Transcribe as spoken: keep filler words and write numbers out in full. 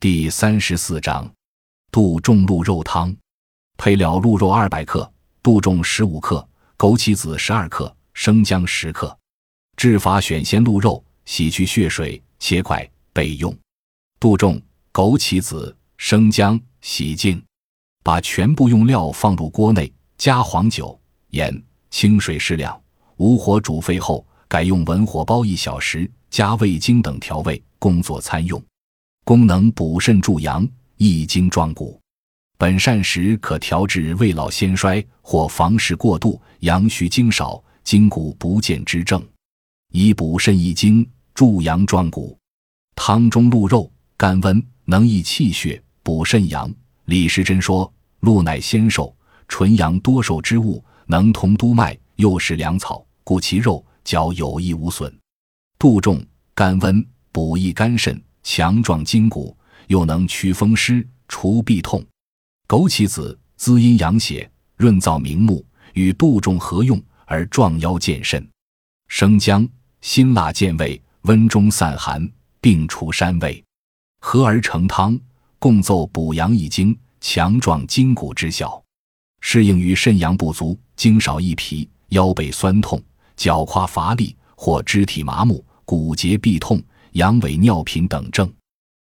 第三十四章，杜仲鹿肉汤。配料：鹿肉二百克，杜仲十五克，枸杞子十二克，生姜十克。制法：选鲜鹿肉，洗去血水，切块备用。杜仲、枸杞子、生姜洗净，把全部用料放入锅内，加黄酒、盐、清水适量，无火煮沸后，改用文火煲一小时，加味精等调味，供作餐用。功能：补肾助阳，益精壮骨。本膳食可调治未老先衰或房事过度、阳虚精少、筋骨不健之症，以补肾益精、助阳壮骨。汤中鹿肉，甘温，能益气血，补肾阳。李时珍说：鹿乃鲜瘦，纯阳多寿之物，能通督脉，又是良草，故其肉嚼有益无损。杜仲，甘温，补益肝肾，强壮筋骨，又能祛风湿，除痹痛。枸杞子，滋阴养血，润燥明目，与杜仲合用而壮腰健肾。生姜，辛辣健胃，温中散寒，并除膻味，合而成汤，共奏补阳益精、强壮筋骨之效，适应于肾阳不足、精少益脾、腰背酸痛、脚胯乏力或肢体麻木、骨节痹痛、阳痿尿频等症。